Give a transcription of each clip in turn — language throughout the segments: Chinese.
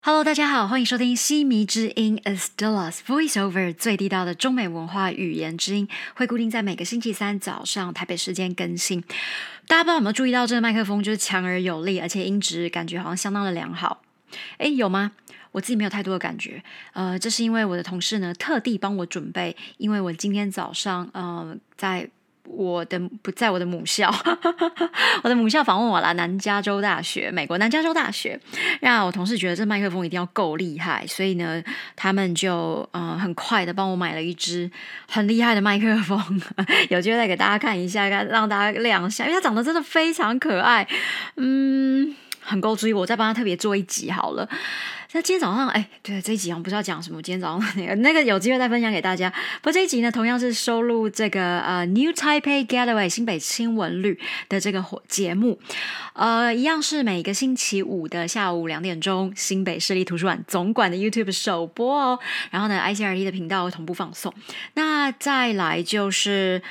Hello， 大家好，欢迎收听西迷之音 Estella's Voiceover 最地道的中美文化语言之音，会固定在每个星期三早上台北时间更新。大家不知道有没有注意到，这个麦克风就是强而有力，而且音质感觉好像相当的良好。诶，有吗？我自己没有太多的感觉。这是因为我的同事呢特地帮我准备，因为我今天早上在我的母校，我的母校访问我啦，南加州大学，美国南加州大学。让我同事觉得这麦克风一定要够厉害，所以呢，他们就很快的帮我买了一支很厉害的麦克风，有机会再给大家看一下，让大家亮相，因为它长得真的非常可爱，很够注意，我再帮他特别做一集好了。那今天早上，对，这一集好像不知道讲什么，今天早上那个有机会再分享给大家。不过这一集呢，同样是收录这个New Taipei Getaway 新北轻文旅的这个节目，一样是每个星期五的下午2点钟，新北市立图书馆总馆的 YouTube 首播哦。然后呢 ，ICRT 的频道会同步放送。那再来就是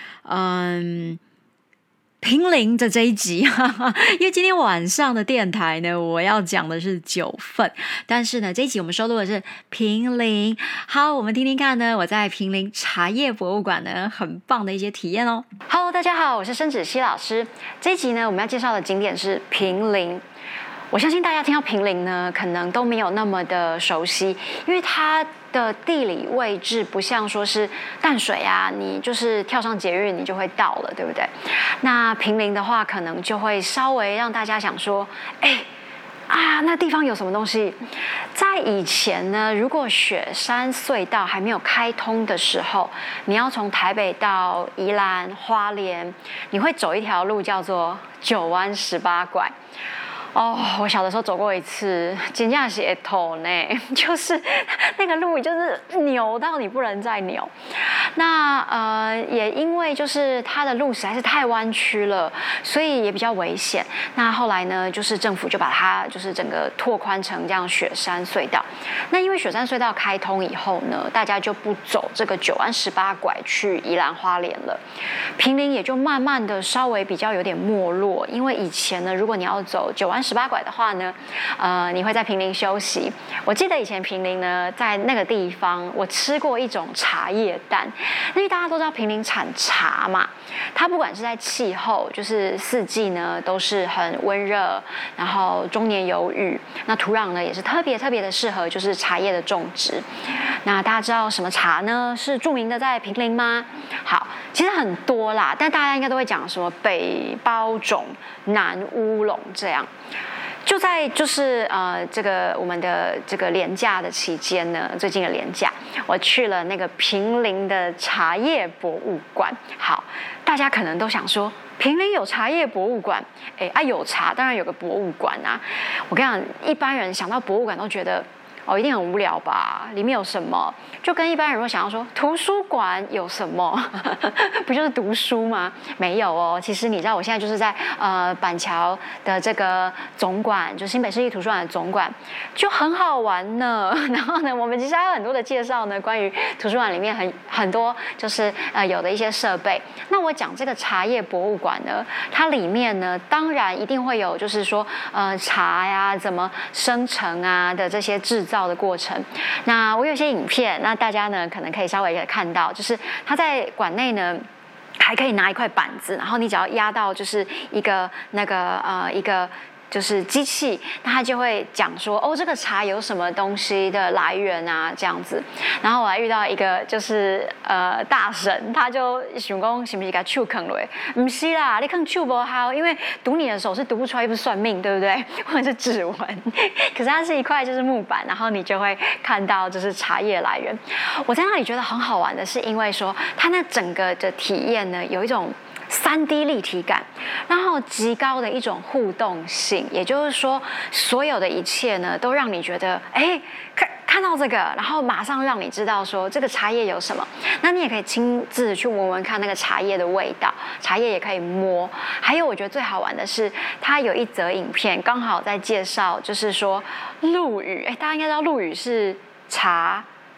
平林的这一集，因为今天晚上的电台呢，我要讲的是9份，但是呢，这一集我们收录的是平林。好，我们听听看呢，我在平林茶叶博物馆呢，很棒的一些体验哦。Hello， 大家好，我是申芷溪老师。这一集呢，我们要介绍的景点是平林。我相信大家听到平林呢，可能都没有那么的熟悉，因为它的地理位置不像说是淡水啊，你就是跳上捷运你就会到了，对不对？那平林的话，可能就会稍微让大家想说，那地方有什么东西？在以前呢，如果雪山隧道还没有开通的时候，你要从台北到宜兰、花莲，你会走一条路叫做9弯18拐。我小的时候走过一次，真的是会吐呢，就是那个路就是扭到你不能再扭。那也因为就是它的路实在是太弯曲了，所以也比较危险。那后来呢，就是政府就把它就是整个拓宽成这样雪山隧道。那因为雪山隧道开通以后呢，大家就不走这个9弯18拐去宜兰花莲了，平林也就慢慢的稍微比较有点没落。因为以前呢，如果你要走9弯18拐的话呢，你会在平林休息。我记得以前平林呢，在那个地方，我吃过一种茶叶蛋，因为大家都知道平林产茶嘛，它不管是在气候，就是四季呢都是很温热，然后终年有雨，那土壤呢也是特别的适合就是茶叶的种植。那大家知道什么茶呢是著名的在平林吗？好，其实很多啦，但大家应该都会讲什么北包种、南乌龙这样。就在就是这个我们的这个连假的期间呢，最近的连假，我去了那个平林的茶叶博物馆。好，大家可能都想说，平林有茶叶博物馆？有茶，当然有个博物馆啊。我跟你讲，一般人想到博物馆都觉得一定很无聊吧？里面有什么？就跟一般人如果想要说图书馆有什么，不就是读书吗？没有哦。其实你知道，我现在就是在板桥的这个总馆，就新北市立图书馆的总馆，就很好玩呢。然后呢，我们其实还有很多的介绍呢，关于图书馆里面很多就是有的一些设备。那我讲这个茶叶博物馆呢，它里面呢，当然一定会有就是说茶呀怎么生成啊的这些制造的过程。那我有些影片，那大家呢可能可以稍微看到，就是他在馆内呢还可以拿一块板子，然后你只要压到就是一个一个就是机器，那他就会讲说这个茶有什么东西的来源啊这样子。然后我还遇到一个就是大神，他就想说是不是给手啃了？不是啦，你啃手不好，因为读你的手是读不出来，又不是算命，对不对？或者是指纹，可是它是一块就是木板，然后你就会看到就是茶叶来源。我在那里觉得很好玩的是，因为说它那整个的体验呢，有一种3D 立体感，然后极高的一种互动性，也就是说，所有的一切呢，都让你觉得，看到这个，然后马上让你知道说这个茶叶有什么。那你也可以亲自去闻闻看那个茶叶的味道，茶叶也可以摸。还有，我觉得最好玩的是，它有一则影片刚好在介绍，就是说陆羽，大家应该知道陆羽是茶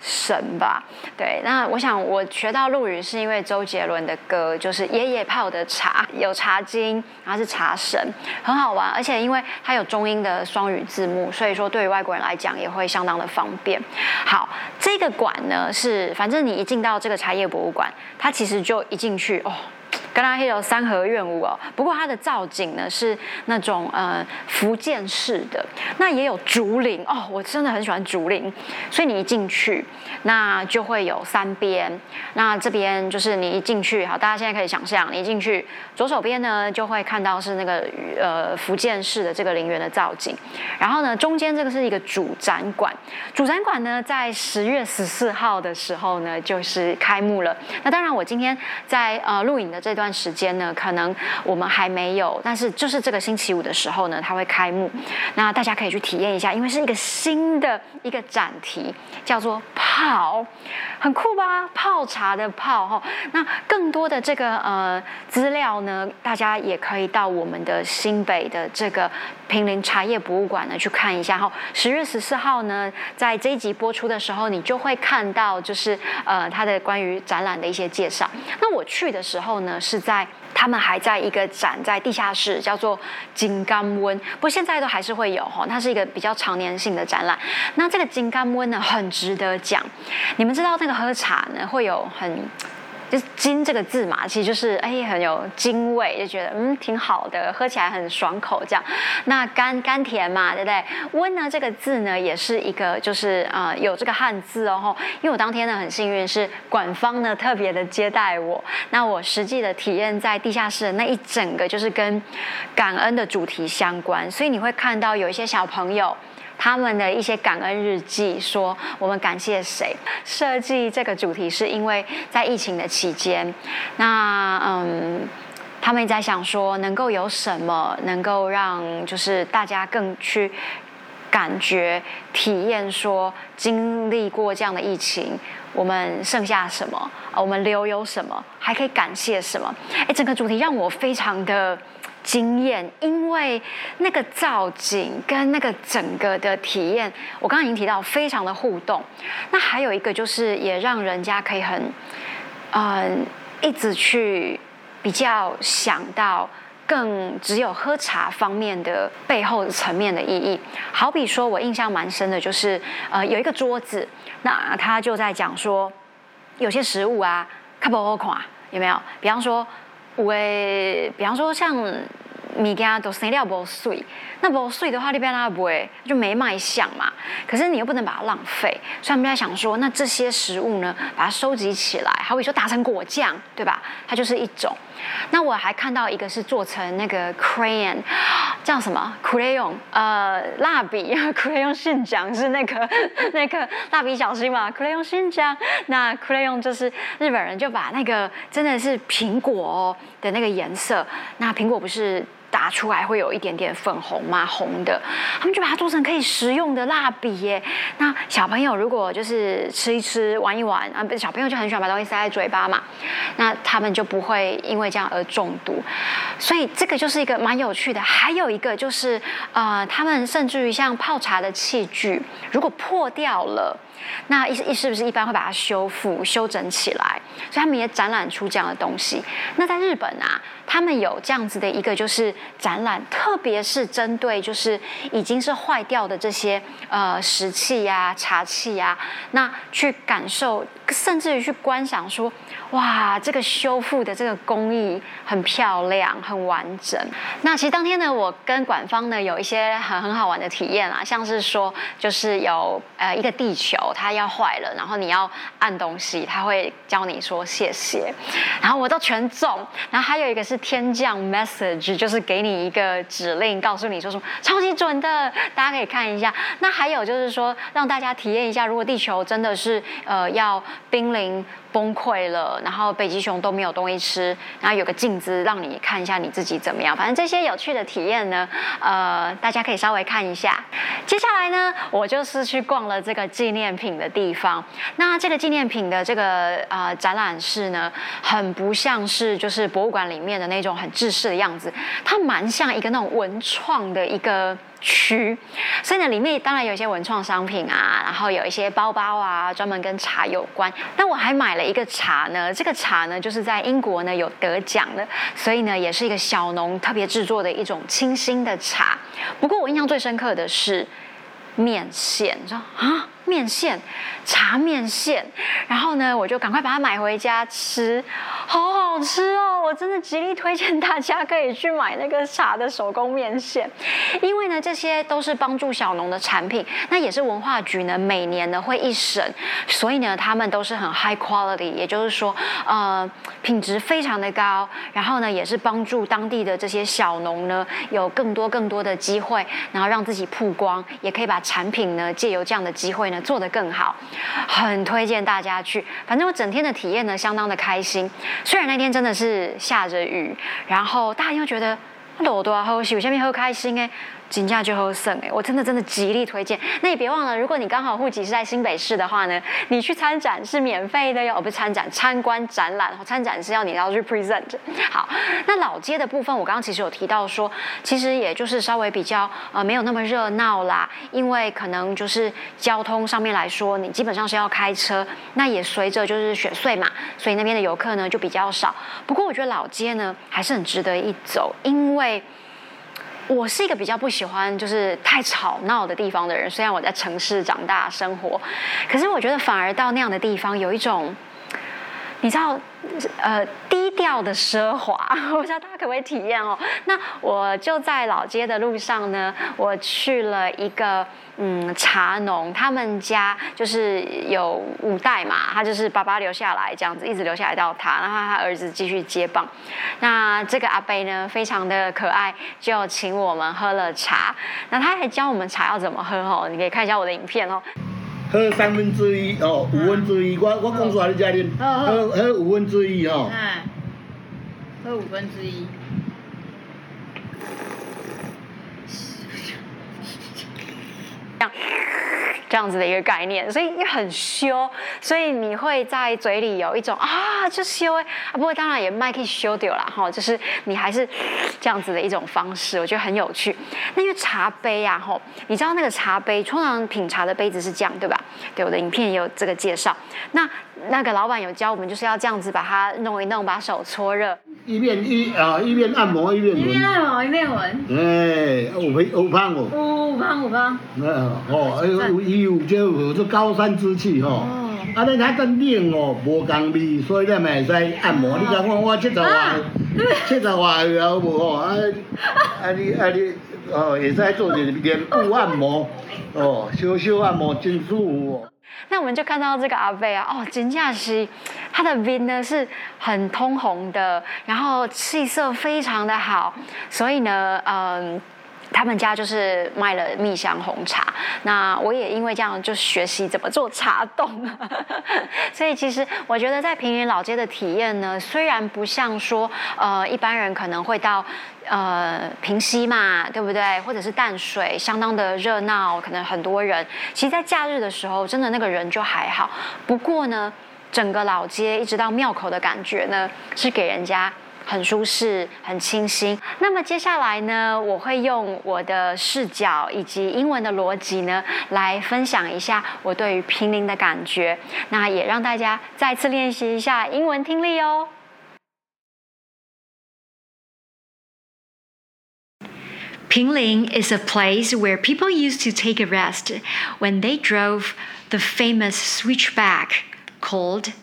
神吧。对，那我想我学到陆语是因为周杰伦的歌，就是爷爷泡的茶，有茶经，然后是茶神，很好玩，而且因为它有中英的双语字幕，所以说对于外国人来讲也会相当的方便。好，这个馆呢是，反正你一进到这个茶叶博物馆，它其实就一进去哦。跟它有三合院屋哦，不过它的造景呢是那种福建式的，那也有竹林哦，我真的很喜欢竹林，所以你一进去，那就会有三边，那这边就是你一进去，好，大家现在可以想象，你一进去，左手边呢就会看到是那个福建式的这个陵园的造景，然后呢中间这个是一个主展馆，主展馆呢在10月14号的时候呢就是开幕了，那当然我今天在录影的这段时间呢，可能我们还没有，但是就是这个星期五的时候呢，它会开幕。那大家可以去体验一下，因为是一个新的一个展题，叫做泡，很酷吧？泡茶的泡哈。那更多的这个资料呢，大家也可以到我们的新北的这个坪林茶叶博物馆呢去看一下哈。10月14号呢，在这一集播出的时候，你就会看到就是它的关于展览的一些介绍。那我去的时候呢，是在他们还在一个展在地下室，叫做金刚温，不过现在都还是会有哈，它是一个比较常年性的展览。那这个金刚温呢，很值得讲。你们知道那个喝茶呢，会有就是金这个字嘛，其实就是很有金味，就觉得挺好的，喝起来很爽口这样。那甘甜嘛，对不对？温呢这个字呢也是一个就是有这个汉字哦，因为我当天呢很幸运是馆方呢特别的接待我，那我实际的体验在地下室的那一整个就是跟感恩的主题相关，所以你会看到有一些小朋友。他们的一些感恩日记，说我们感谢谁？设计这个主题是因为在疫情的期间，那他们也在想说，能够有什么能够让就是大家更去感觉、体验说，经历过这样的疫情，我们剩下什么？我们留有什么？还可以感谢什么？整个主题让我非常的惊艳，因为那个造景跟那个整个的体验，我刚刚已经提到非常的互动。那还有一个就是也让人家可以很一直去比较想到更只有喝茶方面的背后层面的意义。好比说我印象蛮深的就是有一个桌子，那他就在讲说有些食物啊较不好看，有没有？比方说像物件都生了不水，那不水的话，你变它不会就没卖相嘛。可是你又不能把它浪费，所以他们在想说，那这些食物呢，把它收集起来，好比说打成果酱，对吧？它就是一种。那我还看到一个是做成那个 crayon， 叫什么 crayon？ 蜡笔 crayon 信奖是那个蜡笔小新嘛 ？crayon 信奖，那 crayon 就是日本人就把那个真的是苹果的那个颜色，那苹果不是打出来会有一点点粉红嘛，红的，他们就把它做成可以食用的蜡笔耶。那小朋友如果就是吃一吃、玩一玩啊，小朋友就很喜欢把东西塞在嘴巴嘛，那他们就不会因为这样而中毒。所以这个就是一个蛮有趣的。还有一个就是他们甚至于像泡茶的器具，如果破掉了。那是不是一般会把它修整起来？所以他们也展览出这样的东西。那在日本啊，他们有这样子的一个就是展览，特别是针对就是已经是坏掉的这些食器啊、茶器啊，那去感受，甚至于去观赏说，哇，这个修复的这个工艺很漂亮、很完整。那其实当天呢，我跟馆方呢有一些很好玩的体验啦，像是说就是有一个地球。它要坏了，然后你要按东西，它会教你说谢谢，然后我都全中。然后还有一个是天降 message， 就是给你一个指令，告诉你说什么超级准的，大家可以看一下。那还有就是说让大家体验一下，如果地球真的是要濒临崩溃了，然后北极熊都没有东西吃，然后有个镜子让你看一下你自己怎么样。反正这些有趣的体验呢，大家可以稍微看一下。接下来呢，我就是去逛了这个纪念品的地方。那这个纪念品的这个展览室呢，很不像是就是博物馆里面的那种很制式的样子，他蛮像一个那种文创的一个区，所以呢，里面当然有一些文创商品啊，然后有一些包包啊，专门跟茶有关。那我还买了一个茶呢，这个茶呢就是在英国呢有得奖的，所以呢也是一个小农特别制作的一种清新的茶。不过我印象最深刻的是面线，你知道啊？面线，茶面线，然后呢，我就赶快把它买回家吃，好好吃哦！我真的极力推荐大家可以去买那个茶的手工面线，因为呢，这些都是帮助小农的产品，那也是文化局呢每年呢会一审，所以呢，他们都是很 high quality， 也就是说，品质非常的高，然后呢，也是帮助当地的这些小农呢有更多的机会，然后让自己曝光，也可以把产品呢借由这样的机会呢做得更好，很推荐大家去。反正我整天的体验呢相当的开心，虽然那天真的是下着雨，然后大家又觉得落大好是有下面好开心哎。金价就好省哎，我真的极力推荐。那也别忘了，如果你刚好户籍是在新北市的话呢，你去参展是免费的哟，不是参展，参观展览，参展是你要去 present。好，那老街的部分，我刚刚其实有提到说，其实也就是稍微比较没有那么热闹啦，因为可能就是交通上面来说，你基本上是要开车，那也随着就是雪隧嘛，所以那边的游客呢就比较少。不过我觉得老街呢还是很值得一走，因为我是一个比较不喜欢就是太吵闹的地方的人，虽然我在城市长大生活，可是我觉得反而到那样的地方有一种，你知道，低调的奢华，我不知道大家可不可以体验哦。那我就在老街的路上呢，我去了一个茶农，他们家就是有5代嘛，他就是爸爸留下来这样子，一直留下来到他，然后他儿子继续接棒。那这个阿伯呢，非常的可爱，就请我们喝了茶。那他还教我们茶要怎么喝哦，你可以看一下我的影片哦。 喝1/3哦，1/5，我讲出来你才啉。喝1/5哦。 喝1/5。 这样子的一个概念，所以也很羞，所以你会在嘴里有一种就羞不过当然也卖可以羞掉啦哈，就是你还是这样子的一种方式，我觉得很有趣。那因为茶杯啊哈，你知道那个茶杯通常品茶的杯子是这样对吧？对，我的影片也有这个介绍。那个老板有教我们就是要这样子把它弄一弄，把手搓热， 一面按摩一面闻。 一面按摩一面闻。 有香哦。 有香。 有这高山之气吼。你较真冷哦，无共味，所以咱咪会使按摩。你讲我70外岁好无吼？你会使做一个脸部按摩小按摩真舒服哦。 那我们就看到这个阿伯啊，真的是他的面呢是很通红的，然后气色非常的好，所以呢，他们家就是卖了蜜香红茶，那我也因为这样就学习怎么做茶冻，所以其实我觉得在平林老街的体验呢，虽然不像说一般人可能会到平溪嘛，对不对？或者是淡水，相当的热闹，可能很多人。其实，在假日的时候，真的那个人就还好。不过呢，整个老街一直到庙口的感觉呢，是给人家很舒适、很清新。那么接下来呢，我会用我的视角以及英文的逻辑呢，来分享一下我对于平林的感觉。那也让大家再次练习一下英文听力哦。 Pingling is a place where people used to take a rest when they drove the famous switchback called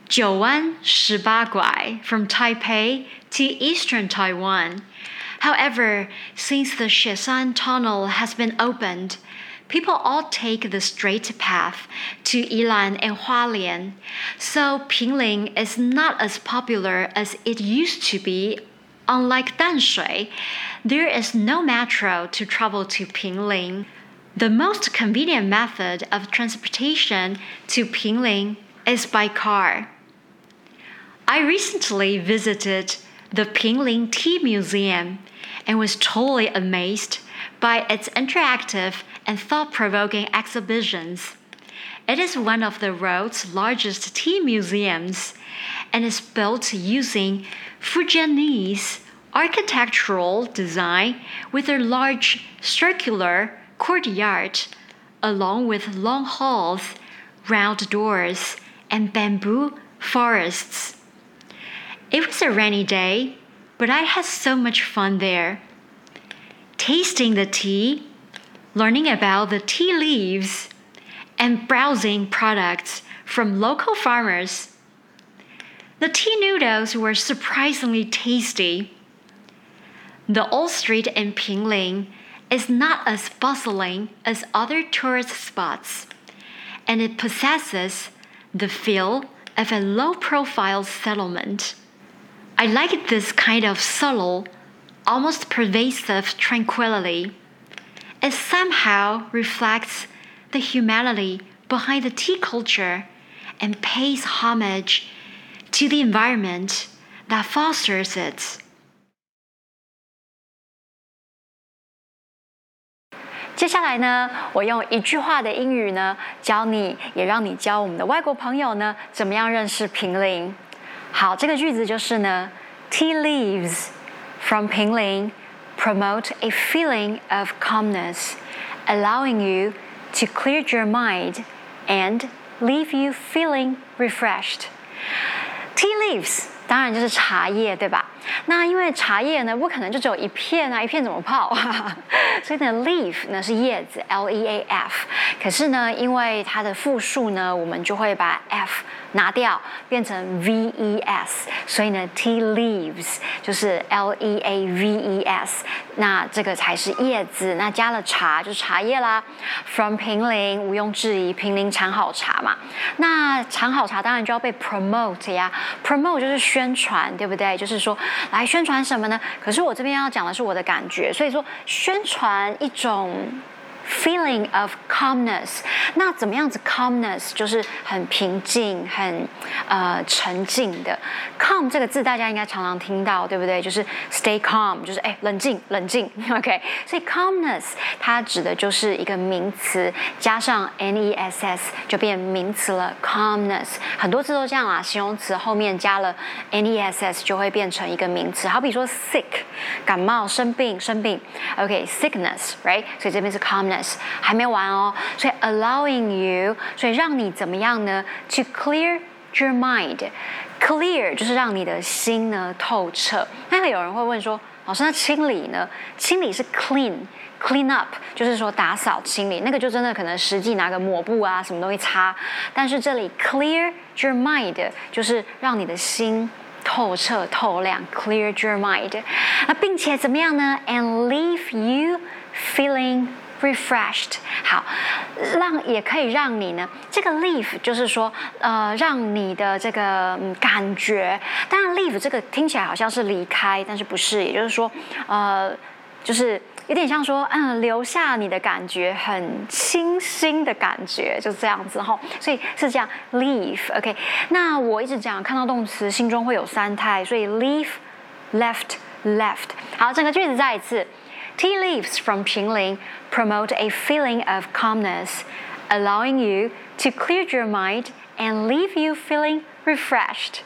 9弯18拐 from Taipei to eastern Taiwan. However, since the Sheshan Tunnel has been opened, people all take the straight path to Yilan and Hualien, so Pingling is not as popular as it used to be. Unlike Danshui, there is no metro to travel to Pingling. The most convenient method of transportation to Pingling is by car. I recently visited the Pingling Tea Museum and was totally amazed by its interactive and thought-provoking exhibitions. It is one of the world's largest tea museums and is built using Fujianese architectural design with a large circular courtyard, along with long halls, round doors, and bamboo forests. It was a rainy day, but I had so much fun there. Tasting the tea, learning about the tea leaves, and browsing products from local farmers. The tea noodles were surprisingly tasty. The old street in Pinling is not as bustling as other tourist spots, and it possesses the feel of a low-profile settlement. I like this kind of subtle, almost pervasive tranquility. It somehow reflects the humanity behind the tea culture and pays homage to the environment that fosters it. 接下来呢，我用一句话的英语呢，教你，也让你教我们的外国朋友呢，怎么样认识平陵。好，这个句子就是呢 ，Tea leaves from 平陵 promote a feeling of calmness, allowing you to clear your mind and leave you feeling refreshed. Tea leaves 当然就是茶叶，对吧？那因为茶叶呢，不可能就只有一片啊，一片怎么泡？所以呢 ，leaf 呢是叶子 ，L-E-A-F。可是呢，因为它的复数呢，我们就会把 F 拿掉，变成 V-E-S。所以呢 ，tea leaves 就是 L-E-A-V-E-S。那这个才是叶子，那加了茶就是茶叶啦。From 平陵，毋庸置疑，平陵产好茶嘛。那产好茶当然就要被 promote 呀 ，promote 就是宣传，对不对？就是说。来宣传什么呢？可是我这边要讲的是我的感觉，所以说宣传一种 feeling of calmness。那怎么样子 calmness 就是很平静、很沉静的。calm 这个字大家应该常常听到，对不对？就是 stay calm， 就是冷静冷静 ，OK。所以 calmness 它指的就是一个名词，加上 ness 就变名词了 calmness。很多字都这样啦，形容词后面加了 ness 就会变成一个名词。好比说 sick 感冒生病，OK sickness right， 所以这边是 calmness。还没完哦，所以 allowing you， 所以让你怎么样呢 ？To clear your mind，clear 就是让你的心呢透彻。那有人会问说，老师，那清理呢？清理是 clean up， 就是说打扫清理，那个就真的可能实际拿个抹布啊，什么东西擦。但是这里 clear your mind 就是让你的心透彻透亮 ，clear your mind。那并且怎么样呢 ？And leave you feeling refreshed， 好，也可以让你呢，这个 leave 就是说，让你的这个感觉，当然 leave 这个听起来好像是离开，但是不是，也就是说，就是有点像说，留下你的感觉很清新的感觉，就这样子哈，所以是这样 leave，OK。那我一直讲看到动词心中会有三态，所以 leave、left。好，整个句子再一次。Tea leaves from 平陵 promote a feeling of calmness, allowing you to clear your mind and leave you feeling refreshed.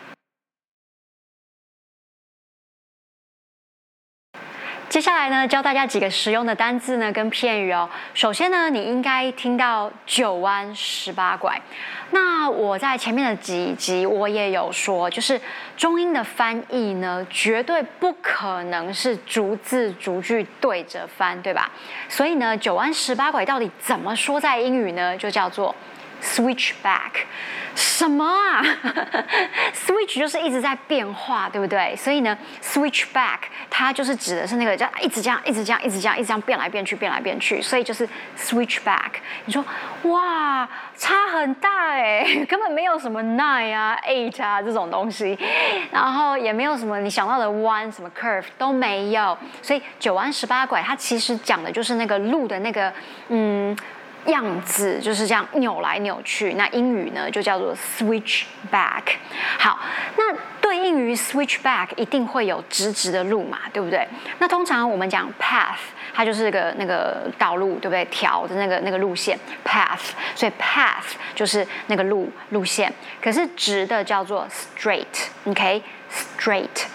接下来呢，教大家几个实用的单字呢跟片语哦。首先呢，你应该听到9弯18拐。那我在前面的几集我也有说，就是中英的翻译呢，绝对不可能是逐字逐句对着翻，对吧？所以呢，9弯18拐到底怎么说在英语呢？就叫做 switch back。什么啊？Switch 就是一直在变化，对不对？所以呢 ，switch back 它就是指的是那个叫一直这样变来变去，所以就是 switch back。你说哇，差很大哎，根本没有什么 nine 啊、8啊这种东西，然后也没有什么你想到的弯什么 curve 都没有，所以9弯18拐它其实讲的就是那个路的那个样子，就是这样扭来扭去。那英语呢就叫做 switch back。好，那对应于 switch back 一定会有直的路嘛，对不对？那通常我们讲 path， 它就是那个道路，对不对？条的那个路线 path， 所以 path 就是那个路线。可是直的叫做 straight，OK，straight。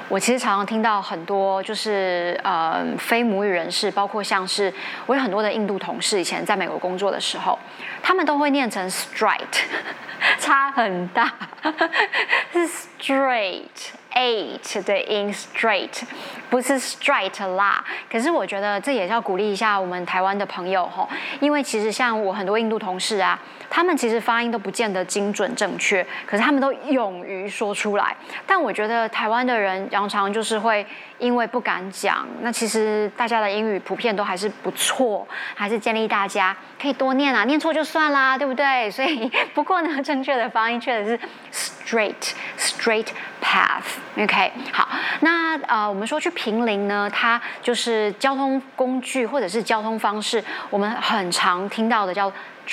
我其实常常听到很多就是非母语人士，包括像是我有很多的印度同事，以前在美国工作的时候，他们都会念成 straight， 差很大，是 straight。8 的音 straight 不是 straight 啦，可是我觉得这也是要鼓励一下我们台湾的朋友吼，因为其实像我很多印度同事啊，他们其实发音都不见得精准正确，可是他们都勇于说出来。但我觉得台湾的人常常就是会因为不敢讲，那其实大家的英语普遍都还是不错，还是建议大家可以多念啊，念错就算啦，对不对？所以不过呢，正确的发音确实是 straight path。OK， 好，那我们说去坪林呢，它就是交通工具或者是交通方式，我们很常听到的叫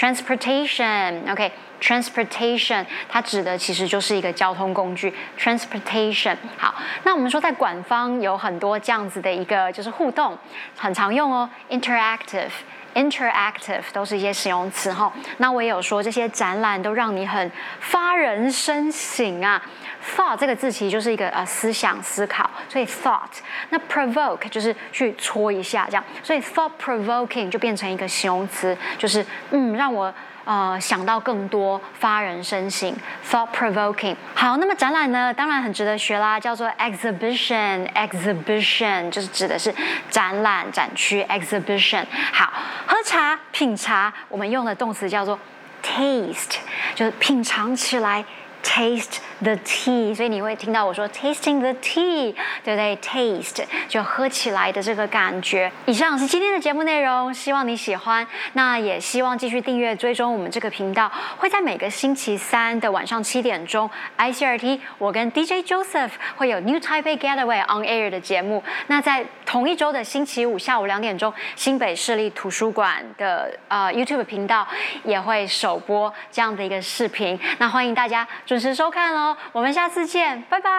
transportation。OK，transportation 它指的其实就是一个交通工具 transportation。好，那我们说在馆方有很多这样子的一个就是互动，很常用哦 interactive 都是一些形容词哈。那我也有说这些展览都让你很发人深省啊。thought 这个字其实就是一个思想思考，所以 thought。那 provoke 就是去戳一下这样，所以 thought provoking 就变成一个形容词，就是让我想到更多，发人深省 thought provoking。 好，那么展览呢当然很值得学啦，叫做 exhibition 就是指的是展览展区 exhibition。 好，喝茶品茶我们用的动词叫做 taste， 就是品尝起来taste the tea， 所以你会听到我说 tasting the tea， 对不对？ taste 就喝起来的这个感觉。以上是今天的节目内容，希望你喜欢。那也希望继续订阅追踪我们这个频道，会在每个星期三的晚上7点钟 ICRT 我跟 DJ Joseph 会有 New Taipei Getaway on Air 的节目。那在同一周的星期五下午2点钟，新北市立图书馆的YouTube 频道也会首播这样的一个视频。那欢迎大家准时收看哦，我们下次见，拜拜。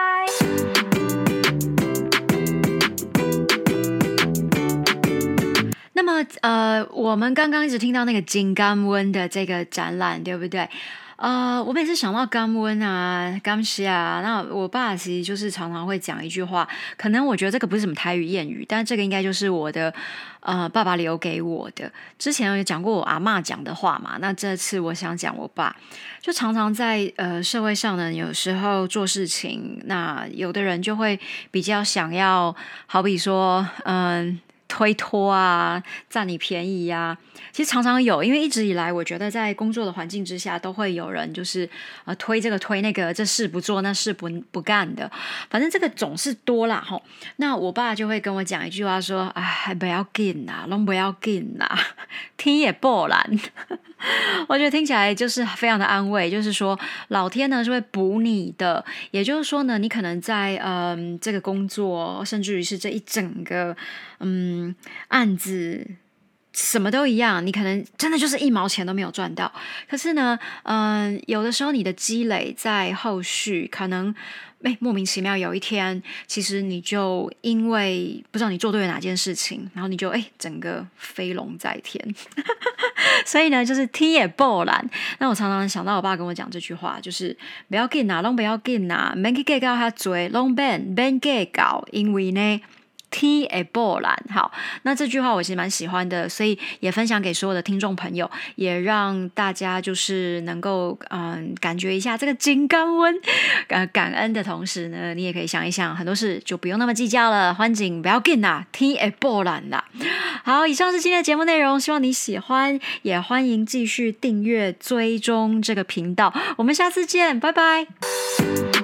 那么我们刚刚一直听到那个金刚温的这个展览，对不对？我每次想到甘温啊、甘西啊，那我爸其实就是常常会讲一句话，可能我觉得这个不是什么台语谚语，但这个应该就是我的爸爸留给我的。之前有讲过我阿嬷讲的话嘛，那这次我想讲我爸，就常常在社会上呢，有时候做事情，那有的人就会比较想要，好比说推脱啊，占你便宜啊，其实常常有，因为一直以来我觉得在工作的环境之下都会有人就是推这个推那个，这事不做那事不干的，反正这个总是多啦齁。那我爸就会跟我讲一句话说，哎，不要紧啦，拢不要紧啦，天也不蓝。我觉得听起来就是非常的安慰，就是说老天呢是会补你的，也就是说呢，你可能在这个工作，甚至于是这一整个案子，什么都一样，你可能真的就是1毛钱都没有赚到，可是呢有的时候你的积累在后续可能莫名其妙有一天，其实你就因为不知道你做对了哪件事情，然后你就整个飞龙在天。所以呢就是天也不蓝。那我常常想到我爸跟我讲这句话，就是不要紧啊，拢不要紧啊，免去计较遐多，拢免计较，因为呢天会不蓝。好，那这句话我其实蛮喜欢的，所以也分享给所有的听众朋友，也让大家就是能够感觉一下这个金刚温，感恩的同时呢，你也可以想一想，很多事就不用那么计较了，反正不要紧啦，天会不蓝啦。好，以上是今天的节目内容，希望你喜欢，也欢迎继续订阅追踪这个频道，我们下次见，拜拜。